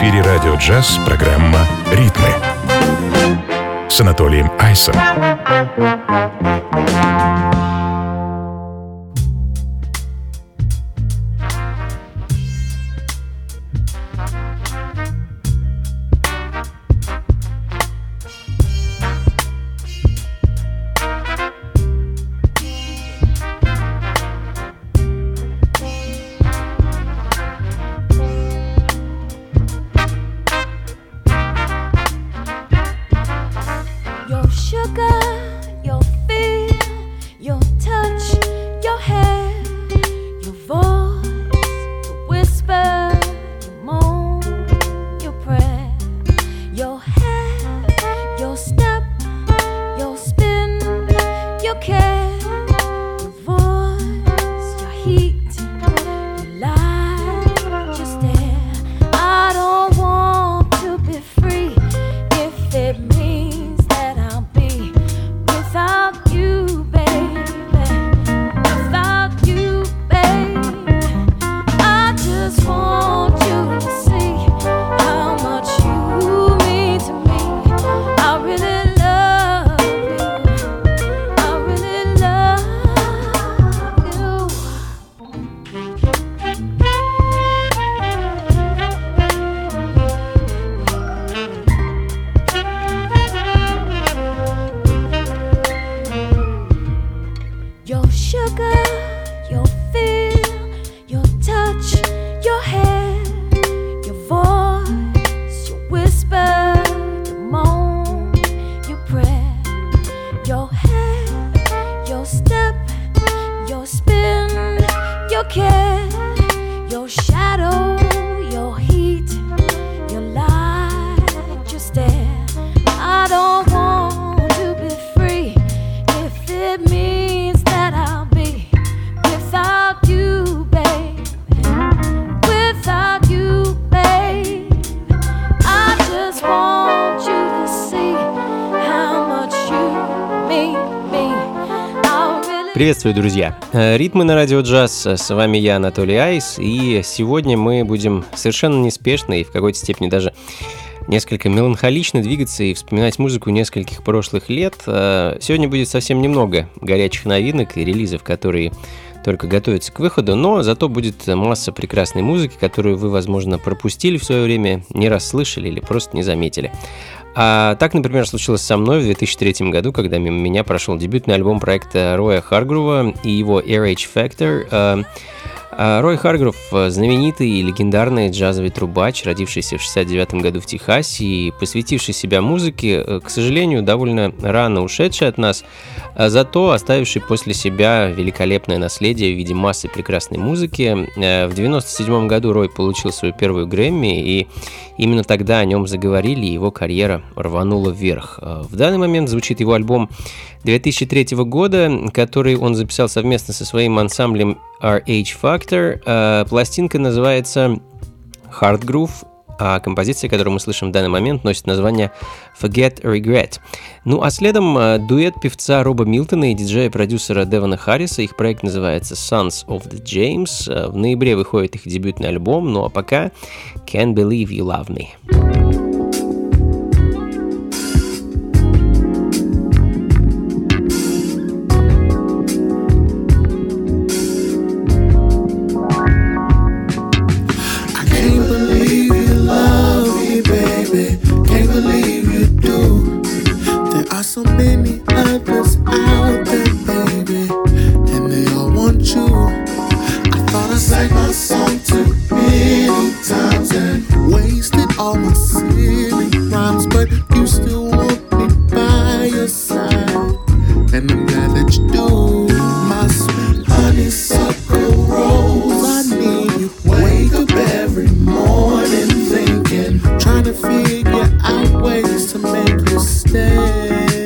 эфире радио «Джаз» программа «Ритмы» с Анатолием Айсом. Приветствую, друзья! Ритмы на радио «Джаз». С вами я, Анатолий Айс, и сегодня мы будем совершенно неспешно и в какой-то степени даже несколько меланхолично двигаться и вспоминать музыку нескольких прошлых лет. Сегодня будет совсем немного горячих новинок и релизов, которые только готовятся к выходу, но зато будет масса прекрасной музыки, которую вы, возможно, пропустили в свое время, не раз слышали или просто не заметили. А так, например, случилось со мной в 2003 году, когда мимо меня прошел дебютный альбом проекта Роя Харгрува и его RH Factor. Рой Харгрув – знаменитый и легендарный джазовый трубач, родившийся в 1969 году в Техасе и посвятивший себя музыке, к сожалению, довольно рано ушедший от нас, зато оставивший после себя великолепное наследие в виде массы прекрасной музыки. В 1997 году Рой получил свою первую Грэмми, и именно тогда о нем заговорили, и его карьера рванула вверх. В данный момент звучит его альбом 2003 года, который он записал совместно со своим ансамблем RH Factor. Пластинка называется Hard Groove, а композиция, которую мы слышим в данный момент, носит название Forget Regret. Ну а следом дуэт певца Роба Милтона и диджея-продюсера Девона Харриса. Их проект называется Sons of the James. В ноябре выходит их дебютный альбом, ну а пока Can't Believe You Love Me. So many others out there, baby, and they all want you. I thought I sang my song too many times and wasted all my silly rhymes, but you still want me by your side, and I'm glad that you do. My sweet honeysuckle rose, I need you. Wake up every morning thinking, trying to figure out ways to make you stay.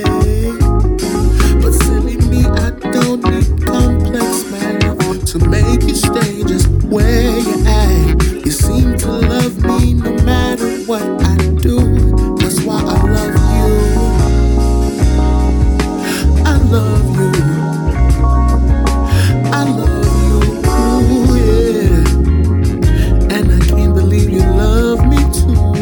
To make you stay just where you're at. You seem to love me no matter what I do. That's why I love you. I love you. I love you, yeah. And I can't believe you love me too.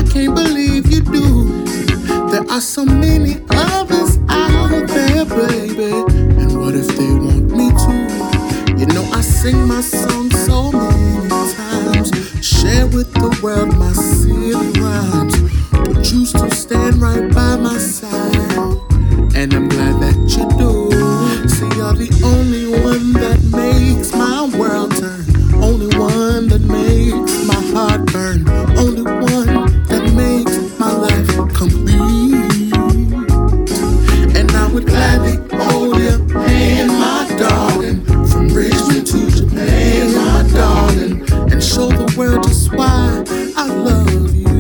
can't believe you do. There are so many others out there, baby. And what if they want me to? You know I sing my song so many times, share with the world my silly rhymes, but you still stand right by my side, and I'm glad that you do. See, you're the only one that makes my world turn, only one that makes my heart burn, only one that makes my life complete. And I would gladly hold your hand, my darling, from Richmond to Japan, my darling, and show the world just why I love you.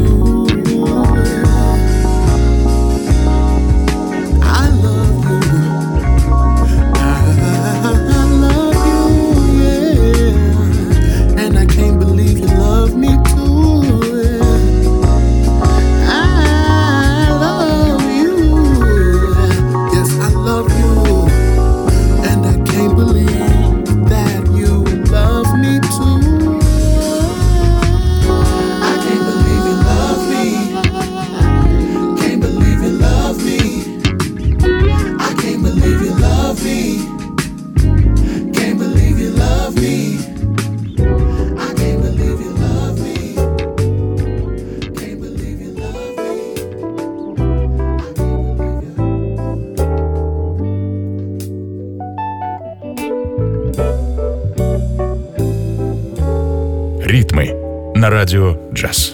I love you. I love you, yeah. And I can't believe you love me too, yeah. I love you. Yes, I love you. And I can't believe that you love me too. I can't believe you love me. Can't believe you love me. I can't believe you love me. Can't believe you love me. I can't believe you love me. Can't believe you love me. Ритмы на радио «Джаз».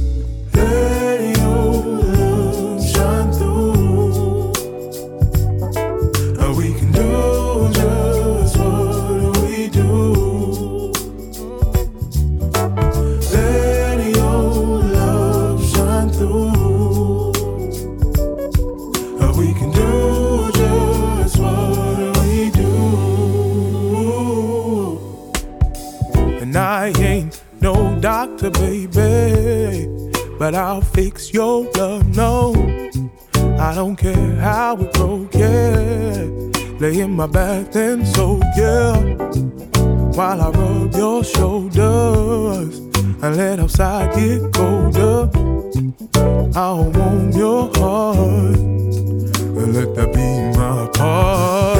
Doctor, baby, but I'll fix your love, no. I don't care how it broke, yeah. Lay in my back then, so yeah. While I rub your shoulders and let outside get colder, I'll warm your heart and let that be my part.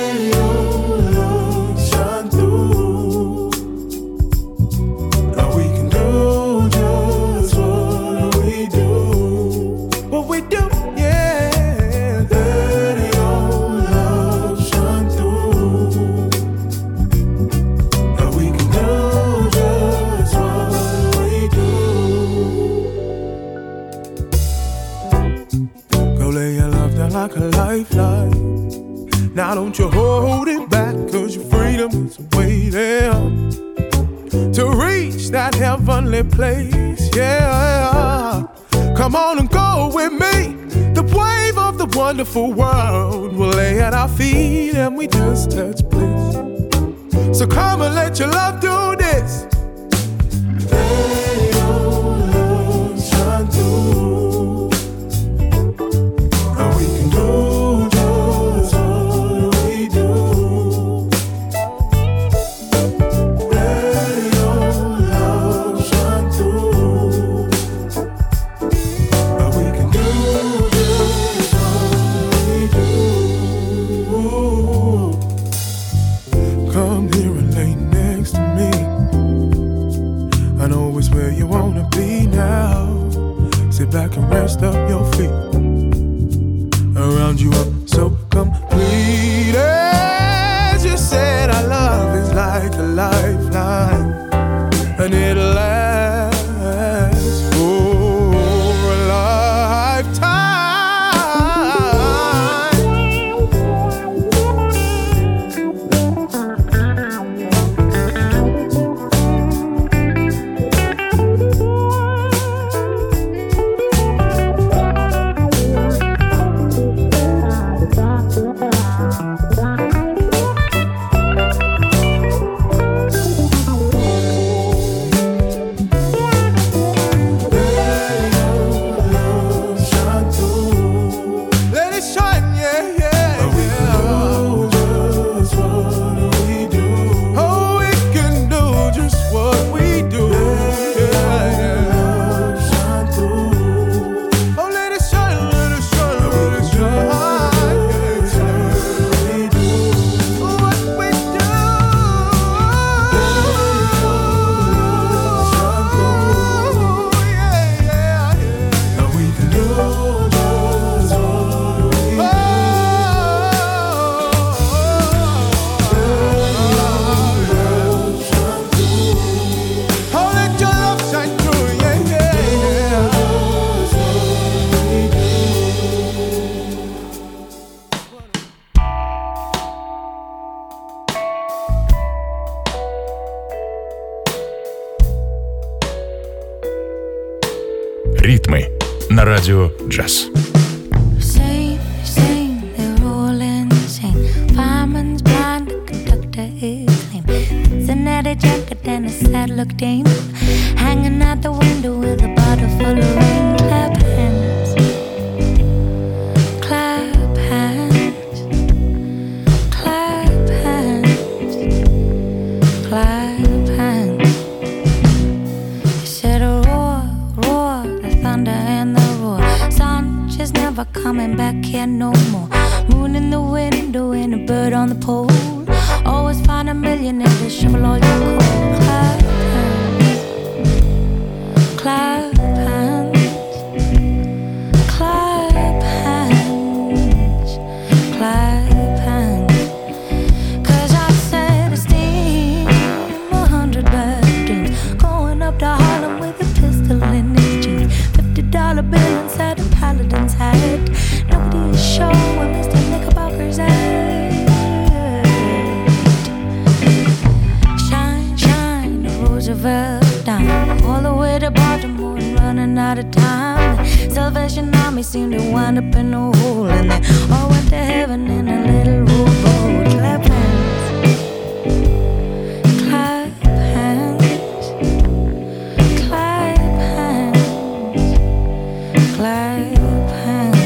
Like a lifeline. Now don't you hold it back, cause your freedom is waiting to reach that heavenly place, yeah. Come on and go with me. The wave of the wonderful world will lay at our feet and we just touch bliss. So come and let your love do this. Let your love shine through. Back and rest up your feet. Around you I'm so complete. As you said, our love is like a lifeline, and it'll last for a lifetime. Ритмы на радио джаз. And a sad look dame hanging out the window with a bottle full of rain. Clap hands, clap hands, clap hands, clap hands. He said a roar, roar, the thunder and the roar. Sun just never coming back here no more. Moon in the window and a bird on the pole. Always find a millionaire to shovel all your coal. Clap hands, clap hands, clap hands. 'Cause I said a steam 100 bedrooms, going up to Harlem with a pistol in his jeans. $50 bill inside a paladin's hat. Nobody is sure where Mr. Knickerbocker's at. Down all the way to Baltimore and running out of time. The Salvation Army seemed to wind up in a hole, and they all went to heaven in a little rowboat. Clap hands, clap hands, clap hands, clap hands.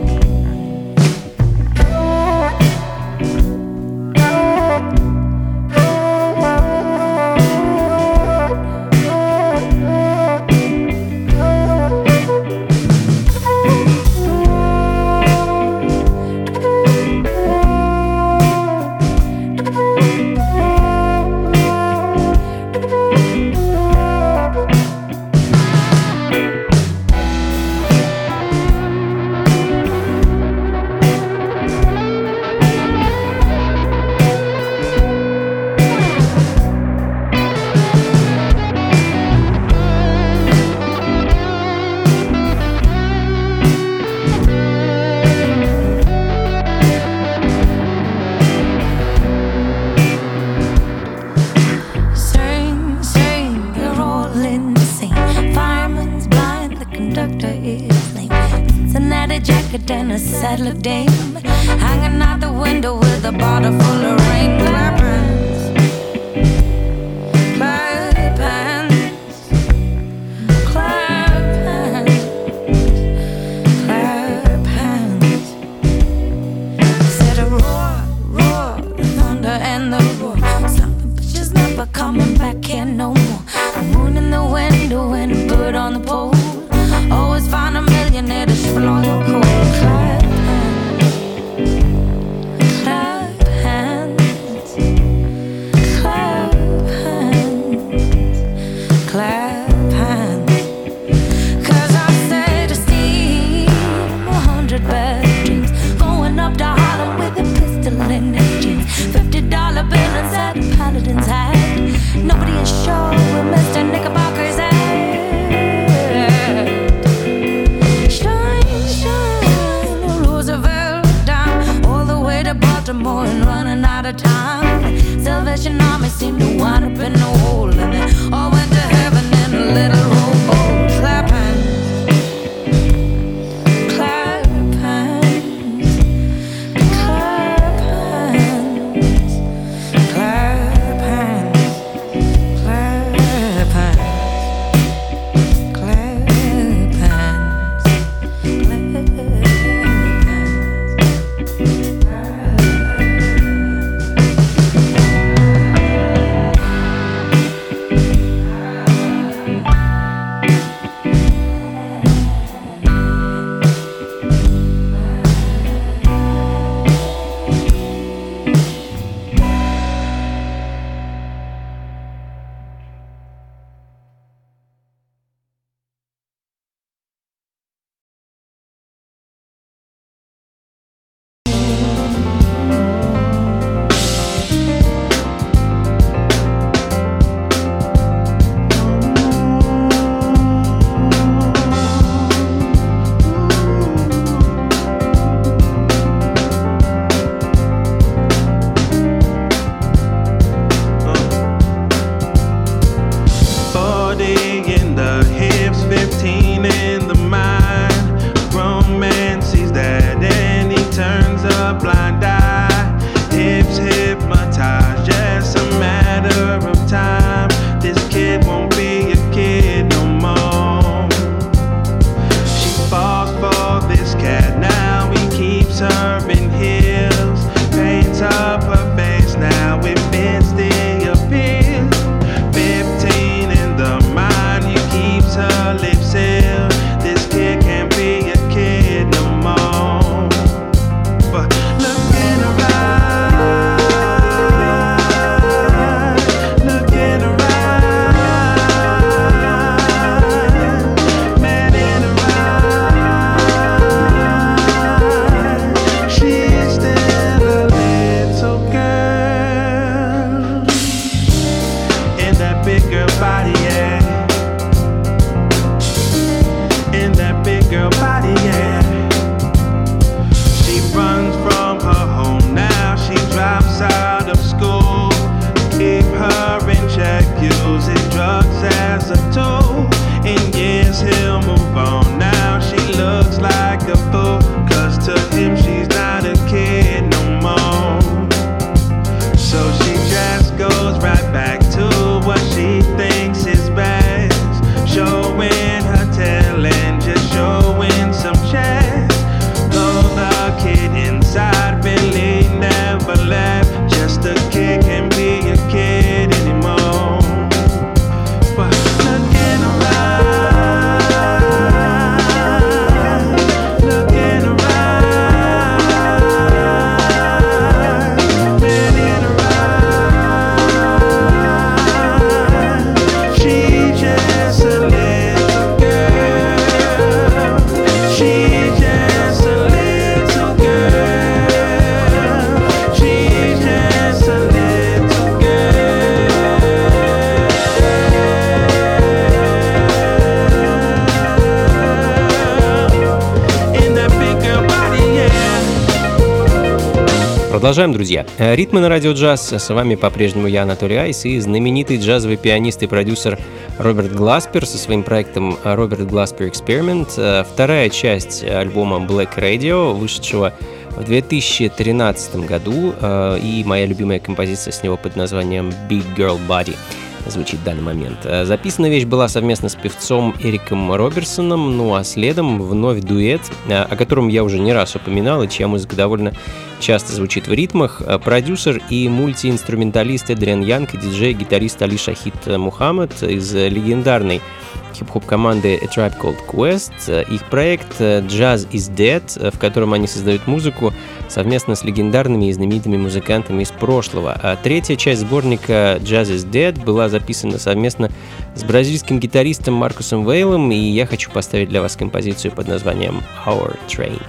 And a sad look dame hanging out the window with a bottle full of rain. Clap hands, clap hands, clap hands, clap hands. Said a roar, roar, the thunder and the roar. Some bitches never coming back here no more. The moon in the window and a bird on the pole. Always find a millionaire to shovel all your coal. Clap hands, clap hands, clap hands, clap hands. 'Cause I said to steam 100 bedrooms, going up to Harlem with a pistol in his jeans. $50 bill inside a paladin's hat. Nobody is sure where Mr. Knickerbocker's at. Shine, shine big girl body, yeah. In that big girl body, yeah. She runs from her home now, she drops out of school. Keep her in check, using drugs as a tool. In years he'll move on now, she looks like a fool. Cause to him she's not a kid no more. So she just goes right back to what she thinks is best. Showing her talent, just showing some chest. Though the kid inside really never left. Just a kid can't be a kid anymore. But looking around, looking around, looking around. She's just a little girl. She's just a little girl. She's just a little girl. In that big girl body, yeah. Продолжаем, друзья. Ритмы на радио джаз. С вами по-прежнему я, Анатолий Айс, и знаменитый джазовый пианист и продюсер Роберт Гласпер со своим проектом Роберт Гласпер Experiment. Вторая часть альбома Black Radio, вышедшего в 2013 году, и моя любимая композиция с него под названием Big Girl Body звучит в данный момент. Записана вещь была совместно с певцом Эриком Роберсоном, ну а следом вновь дуэт, о котором я уже не раз упоминал, и чья музыка довольно часто звучит в ритмах. Продюсер и мультиинструменталист Эдриан Янг и диджей-гитарист Али Шахид Мухаммад из легендарной хип-хоп команды A Tribe Called Quest. Их проект Jazz is Dead, в котором они создают музыку совместно с легендарными и знаменитыми музыкантами из прошлого. А третья часть сборника Jazz is Dead была записана совместно с бразильским гитаристом Маркусом Вейлом, и я хочу поставить для вас композицию под названием Our Train.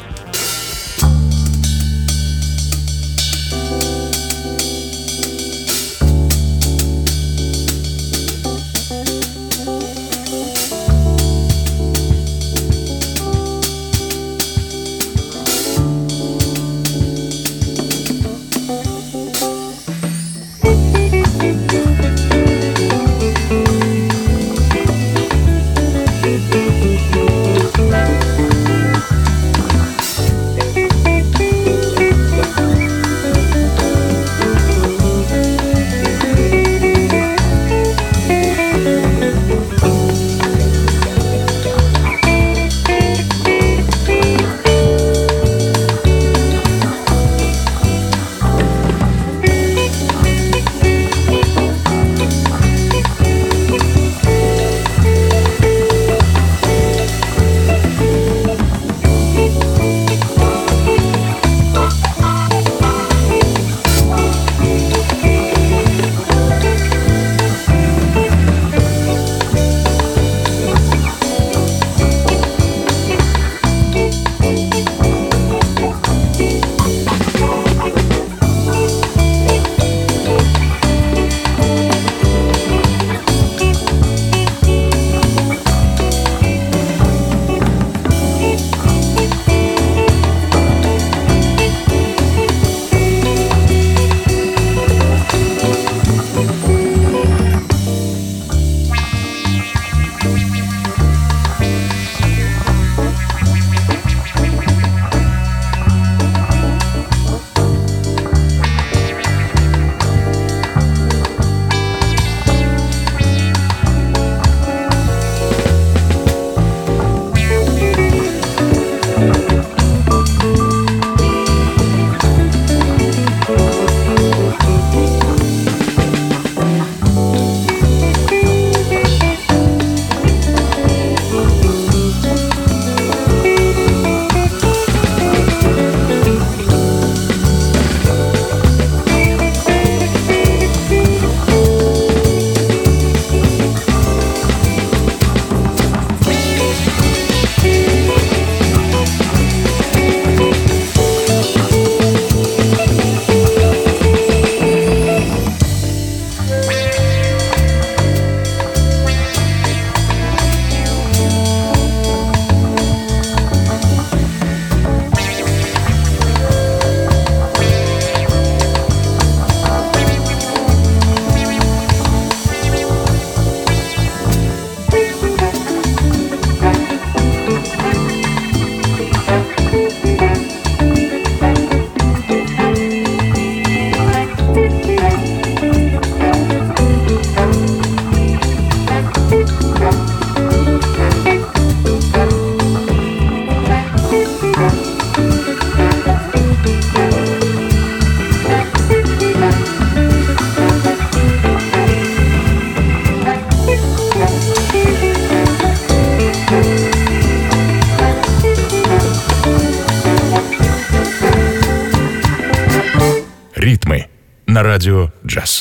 на радио «Джаз».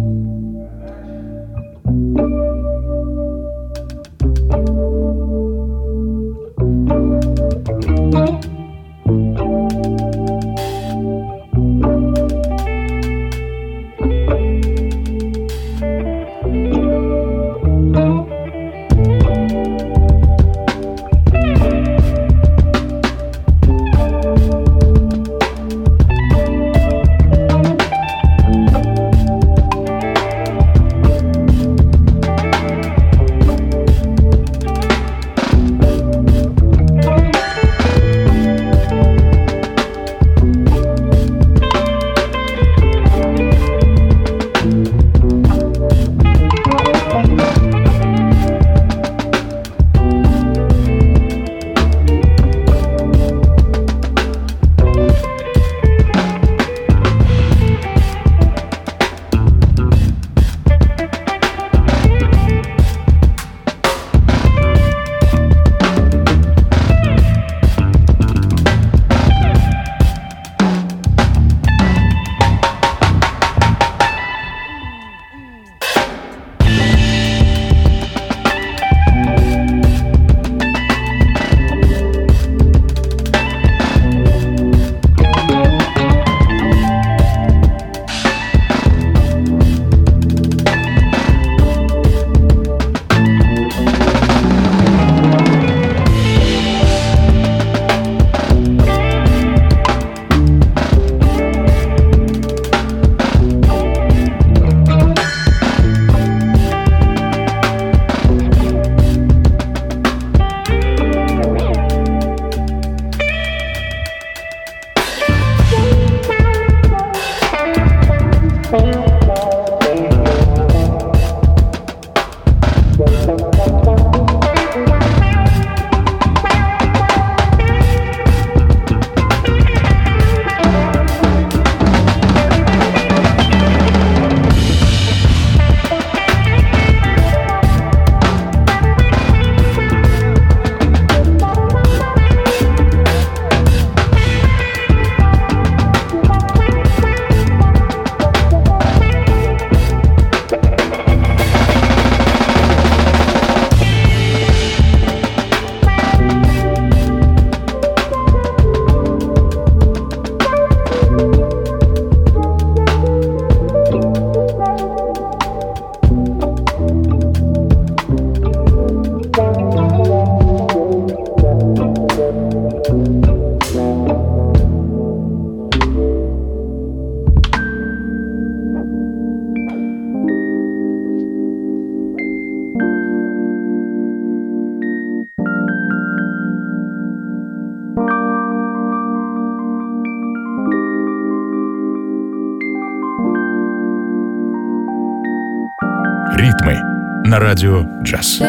«Ритмы» на радио «Джаз».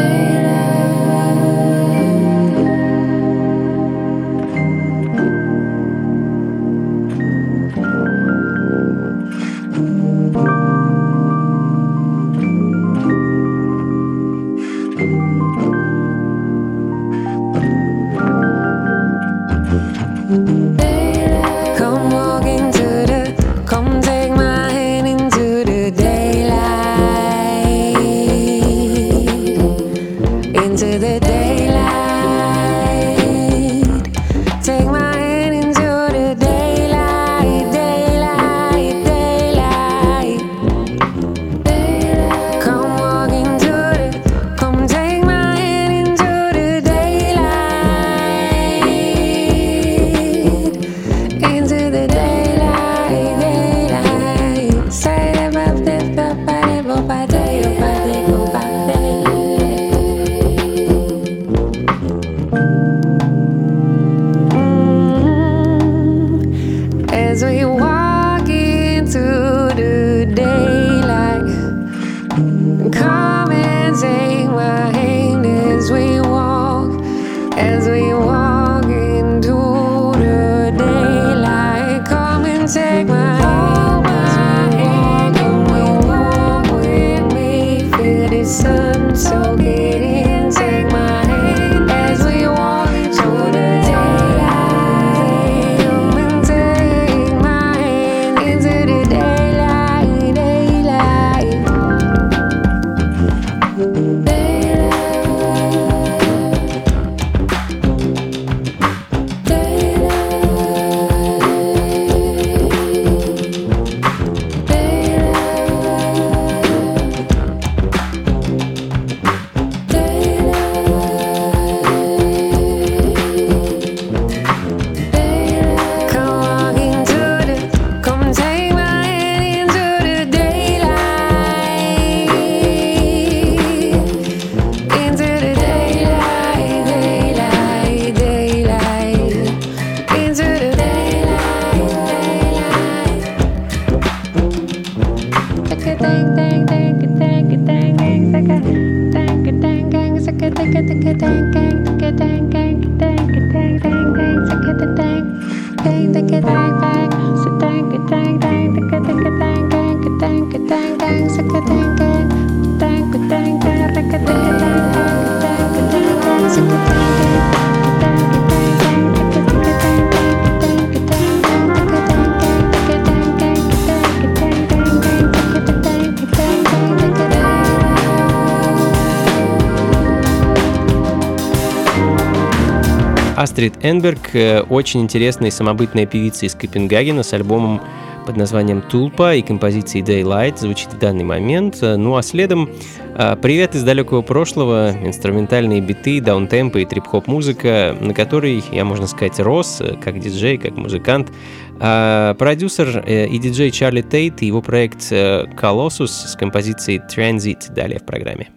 Into the daylight. Астрид Энберг – очень интересная и самобытная певица из Копенгагена с альбомом под названием «Тулпа» и композицией «Daylight» звучит в данный момент. Ну а следом привет из далекого прошлого, инструментальные биты, даунтемпы и трип-хоп музыка, на которой я, можно сказать, рос как диджей, как музыкант. Продюсер и диджей Чарли Тейт и его проект «Colossus» с композицией «Transit» далее в программе.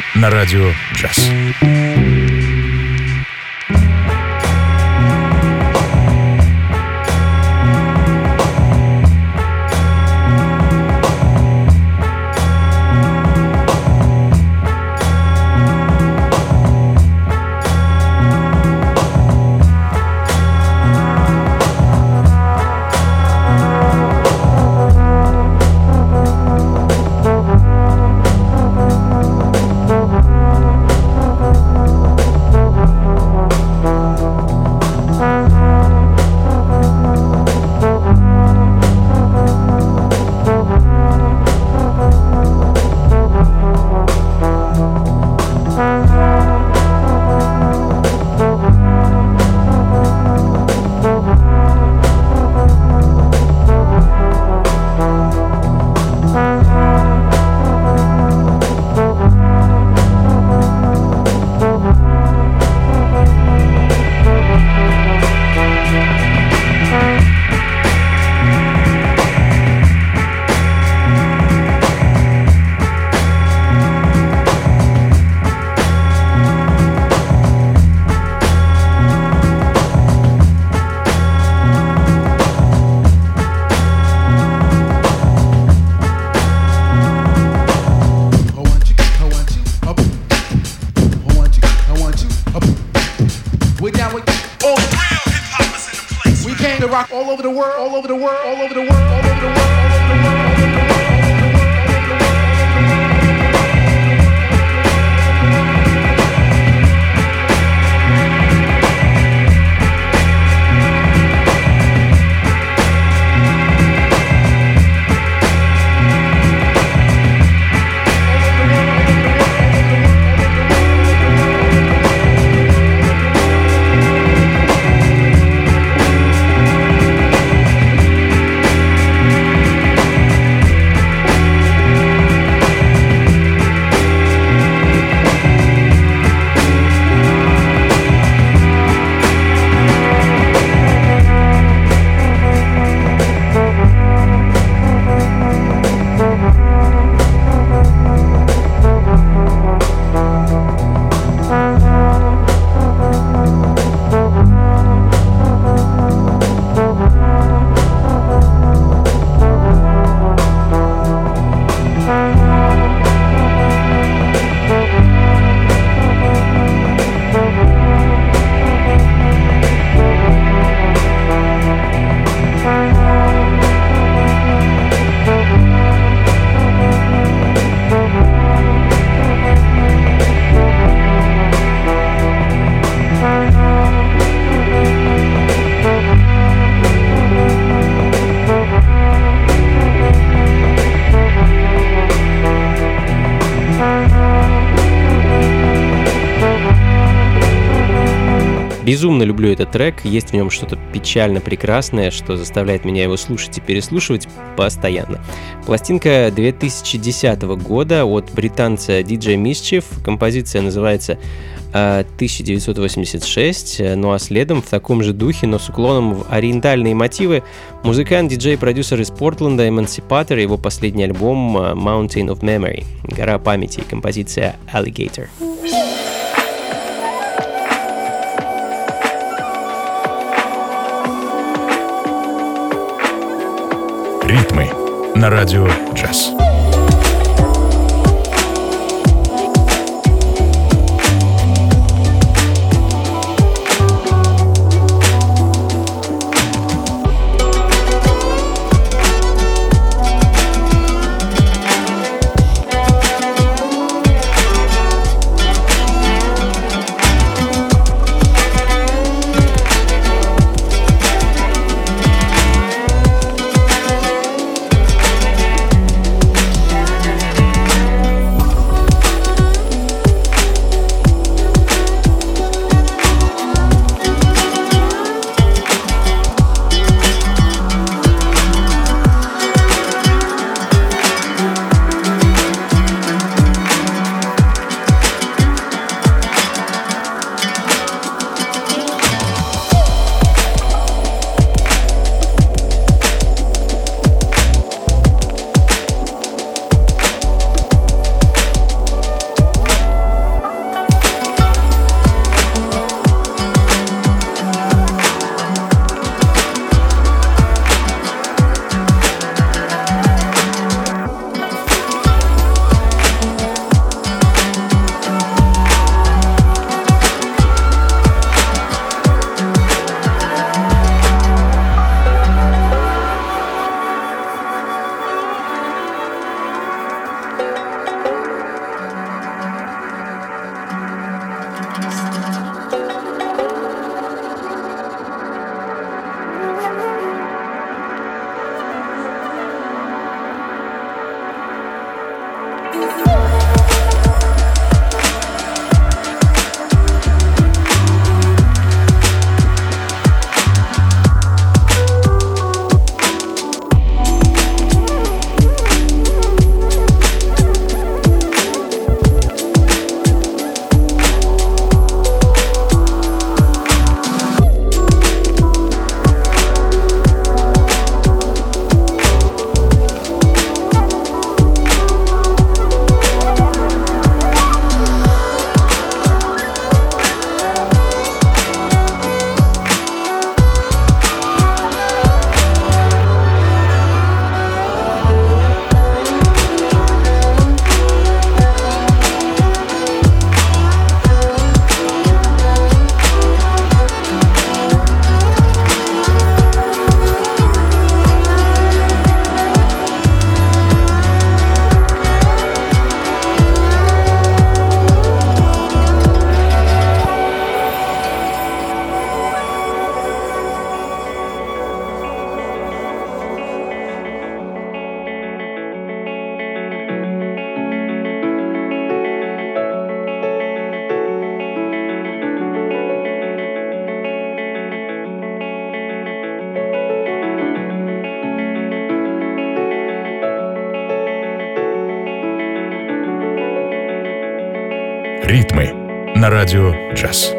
на радио «Джаз». All over the world, all over the world, all over the world, all over the world, all over the world. Безумно люблю этот трек, есть в нем что-то печально прекрасное, что заставляет меня его слушать и переслушивать постоянно. Пластинка 2010 года от британца DJ Mischief, композиция называется 1986, ну а следом в таком же духе, но с уклоном в ориентальные мотивы, музыкант, диджей-продюсер из Портленда Emancipator, его последний альбом Mountain of Memory, гора памяти, композиция Alligator. Ритмы на радио «Джаз». Ритмы на радио «Джаз».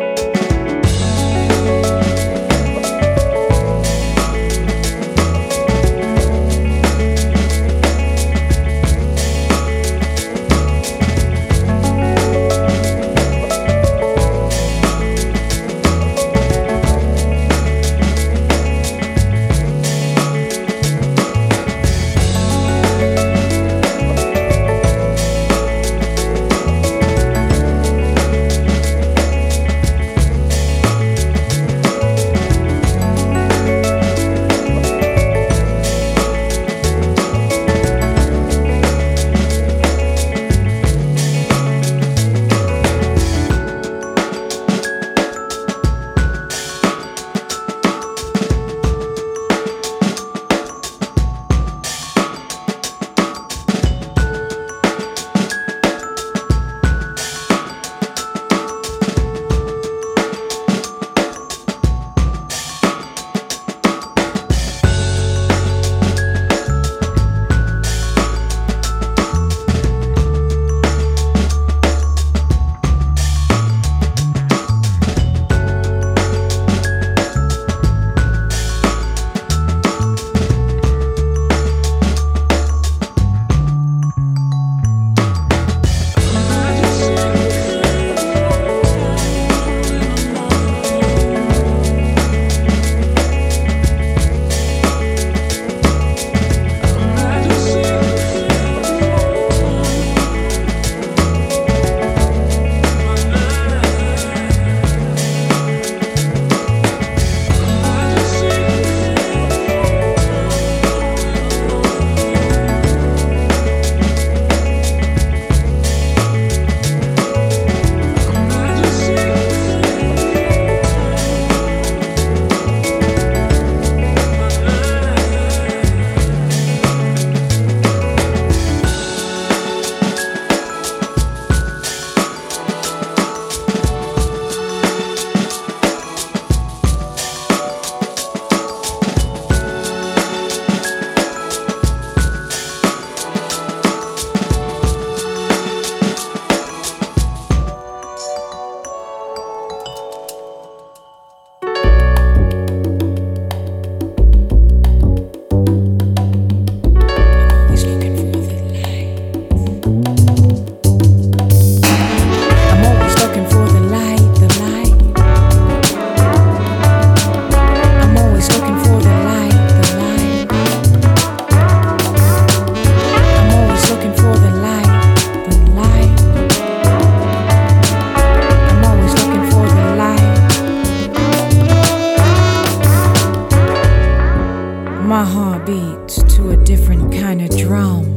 My heart beats to a different kind of drum.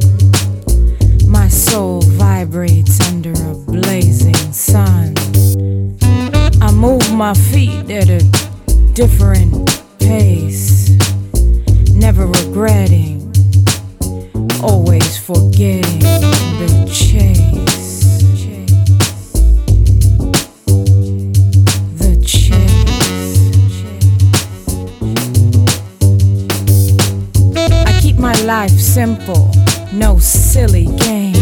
My soul vibrates under a blazing sun. I move my feet at a different pace, never regretting, always forgetting the chase. The chase. I keep my life simple, no silly games.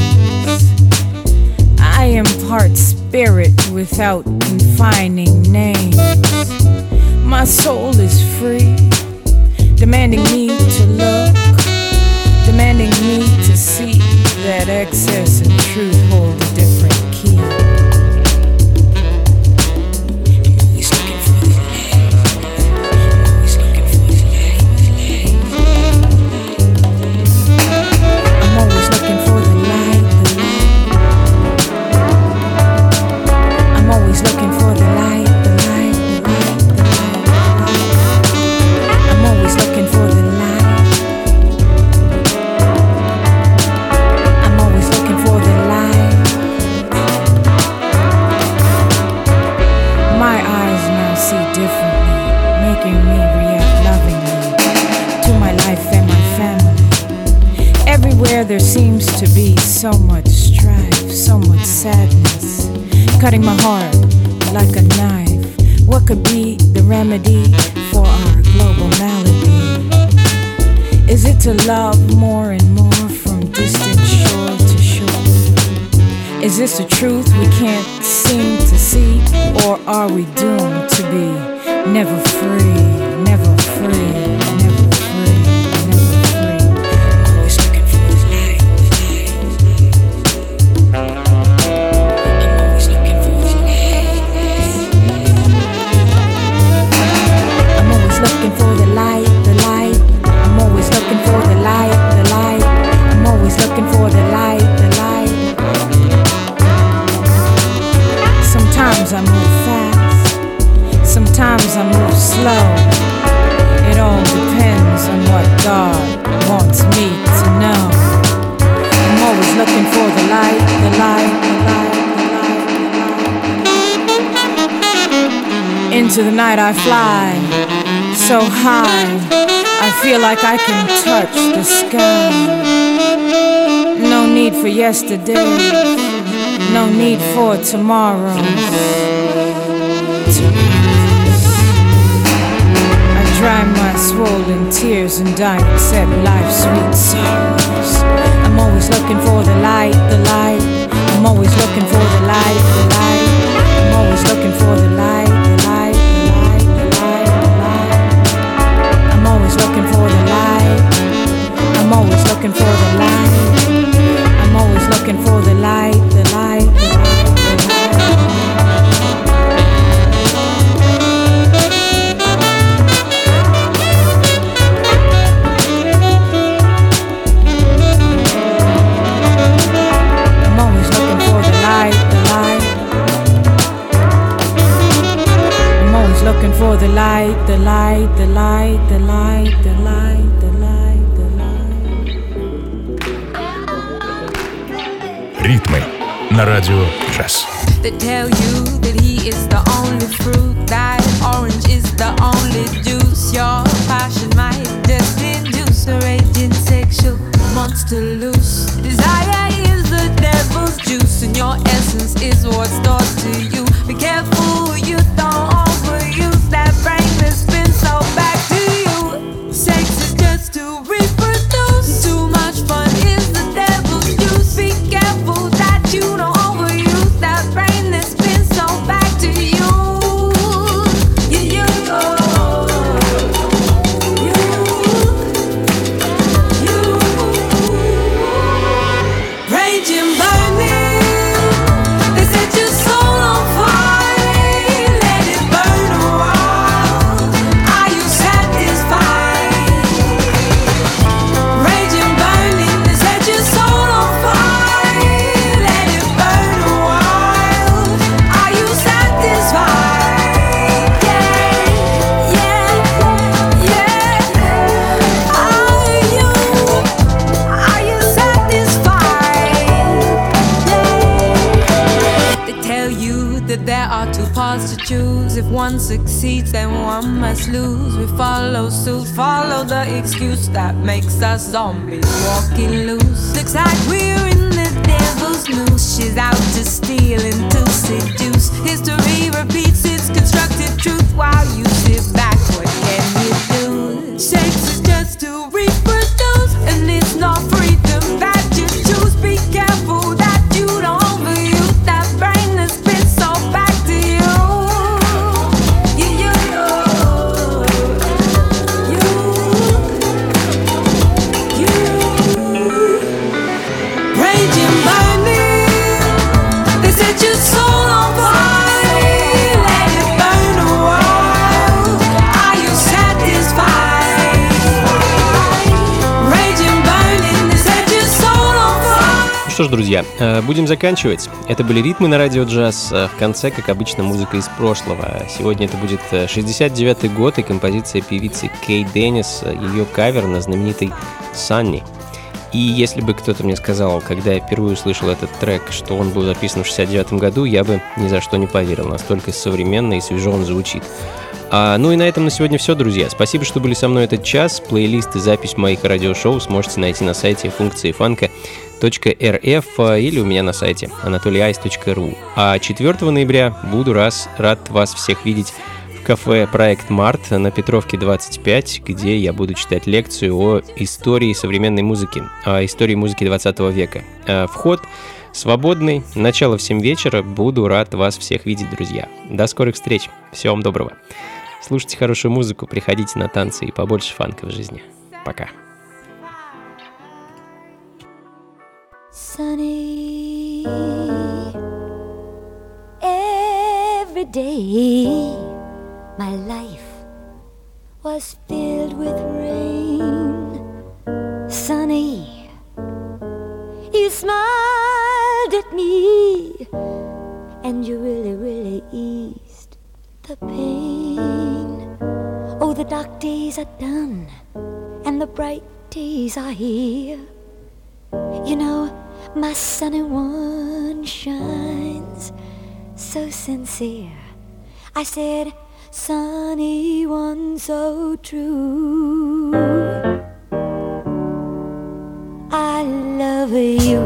I impart spirit without confining names. My soul is free, demanding me to look, demanding me to see that excess and truth hold a different key. There seems to be so much strife, so much sadness, cutting my heart like a knife. What could be the remedy for our global malady? Is it to love more and more from distant shore to shore? Is this a truth we can't seem to see? Or are we doomed to be never free, never free, never free, never free? Always looking for the light, I'm always looking for the light. I'm always looking for the light, the light. I'm always looking for the light, the light. I'm always looking for the light, the light. Sometimes I move fast, sometimes I move slow. It all depends on what God wants me to know. I'm always looking for the light, the light, the light, the light, the light. Into the night I fly, so high, I feel like I can touch the sky. No need for yesterday, no need for tomorrow. I dry my swollen tears and I accept life's sweet sorrows. I'm always looking for the light, the light. I'm always looking for the light, the light. I'm always looking for the light, the light, the light, the light, the light. I'm always looking for the light. I'm always looking for the light. I'm always looking for the light, the light, the light, the light. I'm always looking for the light, the light. I'm always looking for the light, the light, the light, the light, the light, the light, the light. Ритмы на радио Джаз. They tell you that he is the only fruit, that orange is the only juice. Your passion might just induce a raging sexual monster loose. Desire is the devil's juice, and your essence is what's taught to you. Be careful you don't overuse that brain that's been so back to you. Sex is just to reproduce. Too much fun is the devil's juice. Be careful that you don't overuse that brain that's been so back to you. Raging, burning, they set your soul on fire. Let it burn a while. Are you satisfied? Raging, burning, they set your soul on fire. Let it burn a while. Are you satisfied? Yeah, yeah, yeah. Are you satisfied? They tell you that there are two paths to choose. If one succeeds, then one must lose. We follow suit, follow the excuse that makes us zombies walking loose. Looks like we're in the devil's noose. She's out to steal and to seduce. History repeats its constructed truth while you sit back. What can you do? Sex is just to reproduce, and it's not freedom that you choose. Be careful that you don't overuse that brain that's been so back to you. Raging, burning, they set your soul on fire. Let it burn a while. Are you satisfied? Raging, burning, they set your soul on fire. Что ж, друзья, будем заканчивать. Это были ритмы на радио Джаз. В конце, как обычно, музыка из прошлого. Сегодня это будет 69-й год и композиция певицы Кей Деннис, ее кавер на знаменитый «Sunny». И если бы кто-то мне сказал, когда я впервые услышал этот трек, что он был записан в 69-м году, я бы ни за что не поверил. Настолько современно и свежо он звучит. Ну и на этом на сегодня все, друзья. Спасибо, что были со мной этот час. Плейлист и запись моих радиошоу сможете найти на сайте функции фанка.рф или у меня на сайте anatolyice.ru. А 4 ноября буду рад вас всех видеть в кафе «Проект Март» на Петровке 25, где я буду читать лекцию о истории современной музыки, о истории музыки 20 века. Вход свободный. Начало в 7 вечера. Буду рад вас всех видеть, друзья. До скорых встреч. Всего вам доброго. Слушайте хорошую музыку, приходите на танцы и побольше фанка в жизни. Пока. Sunny, every day my life was filled with rain. Sunny, you smiled at me and you really eased the pain. Oh, the dark days are done and the bright days are here. You know, my sunny one shines so sincere. I said, sunny one so true. I love you.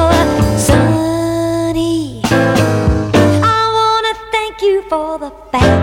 For the fact